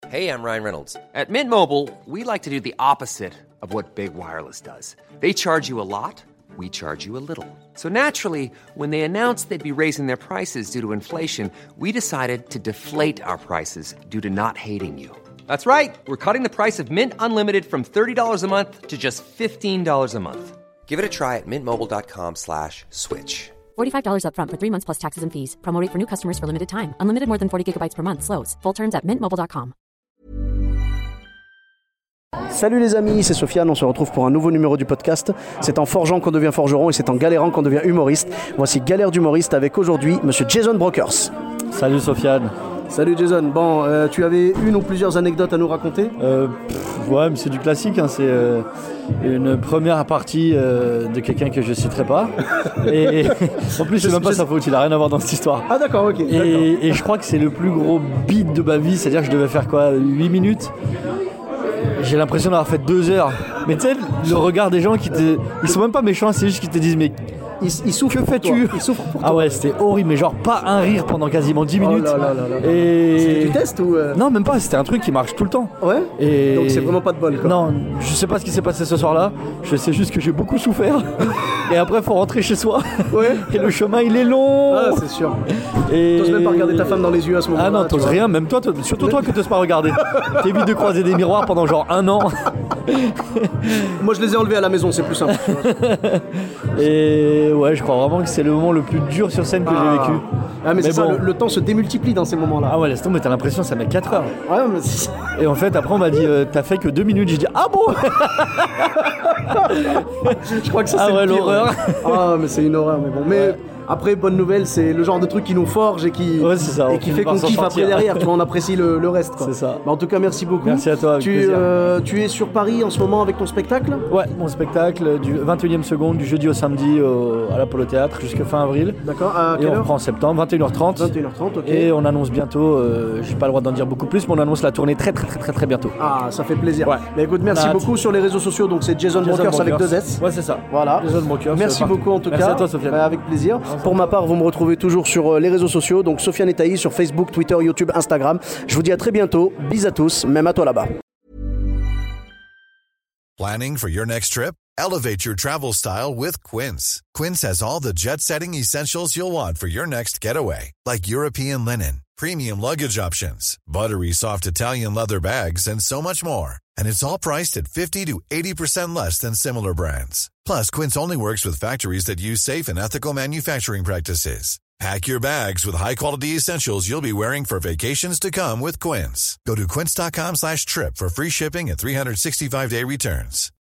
Hey, I'm Ryan Reynolds. At Mint Mobile, we like to do the opposite of what Big Wireless does. They charge you a lot, we charge you a little. So naturally, when they announced they'd be raising their prices due to inflation, we decided to deflate our prices due to not hating you. That's right. We're cutting the price of Mint Unlimited from $30 a month to just $15 a month. Give it a try at mintmobile.com/switch. $45 up front for 3 months plus taxes and fees. Promo rate for new customers for limited time. Unlimited more than 40 gigabytes per month. Slows full terms at mintmobile.com. Salut les amis, c'est Sofiane, on se retrouve pour un nouveau numéro du podcast. C'est en forgeant qu'on devient forgeron et c'est en galérant qu'on devient humoriste. Voici Galère d'humoriste avec aujourd'hui Monsieur Jason Brokers. Salut Sofiane. Salut Jason, bon, tu avais une ou plusieurs anecdotes à nous raconter? Ouais, mais c'est du classique, hein. C'est une première partie de quelqu'un que je citerai pas. Et en plus, c'est même pas sa faute, il a rien à voir dans cette histoire. Ah d'accord, ok. Et je crois que c'est le plus gros beat de ma vie, c'est-à-dire que je devais faire quoi, 8 minutes. J'ai l'impression d'avoir fait 2 heures. Mais tu sais, le regard des gens ils sont même pas méchants, c'est juste qu'ils te disent mais il souffre. Que fais-tu? Il souffre pour toi. Ah ouais, c'était horrible, mais genre pas un rire pendant quasiment 10 minutes. Oh là. Et... C'était du test ou Non, même pas, c'était un truc qui marche tout le temps. Ouais. Et... Donc c'est vraiment pas de bol quoi. Non, je sais pas ce qui s'est passé ce soir-là. Je sais juste que j'ai beaucoup souffert. Et après, faut rentrer chez soi. Ouais. Et le chemin, il est long. Ah, c'est sûr. Et... T'oses même pas regarder ta femme dans les yeux à ce moment-là. Ah non, t'oses rien, même toi, surtout toi que t'oses pas regarder. T'évites de croiser des miroirs pendant genre 1 an. Moi je les ai enlevés à la maison, c'est plus simple. Et ouais, je crois vraiment que c'est le moment le plus dur sur scène que j'ai vécu. Ah mais c'est bon. Ça, le temps se démultiplie dans ces moments-là. Ah ouais, laisse tomber, t'as l'impression que ça met 4 heures. Ouais, mais c'est... Et en fait, après on m'a dit, t'as fait que 2 minutes. J'ai dit, ah bon. Je crois que ça c'est le pire, l'horreur. Ouais. Ah mais c'est une horreur, mais bon. Mais... Ouais. Après, bonne nouvelle, c'est le genre de truc qui nous forge et qui, qui fait qu'on kiffe après derrière. Tu vois, on apprécie le reste. Quoi. C'est ça. Bah, en tout cas, merci beaucoup. Merci à toi. Tu es sur Paris en ce moment avec ton spectacle? Ouais, mon spectacle du 21e seconde, du jeudi au samedi à l'Apollo Théâtre jusqu'à fin avril. D'accord. À quelle heure? On reprend en septembre, 21h30. 21h30, ok. Et on annonce bientôt, j'ai pas le droit d'en dire beaucoup plus, mais on annonce la tournée très bientôt. Ah, ça fait plaisir. Ouais. Mais écoute, merci beaucoup sur les réseaux sociaux. Donc c'est Jason Brokers avec 2 S. Ouais, c'est ça. Voilà. Jason Brokers. Merci beaucoup en tout cas. Merci à toi, Sofiane. Avec plaisir. Pour ma part, vous me retrouvez toujours sur les réseaux sociaux, donc Sofiane et Taïs sur Facebook, Twitter, YouTube, Instagram. Je vous dis à très bientôt. Bis à tous, même à toi là-bas. Planning for your next trip? Elevate your travel style with Quince. Quince has all the jet-setting essentials you'll want for your next getaway, like European linen, premium luggage options, buttery soft Italian leather bags, and so much more. And it's all priced at 50 to 80% less than similar brands. Plus, Quince only works with factories that use safe and ethical manufacturing practices. Pack your bags with high-quality essentials you'll be wearing for vacations to come with Quince. Go to quince.com/trip for free shipping and 365-day returns.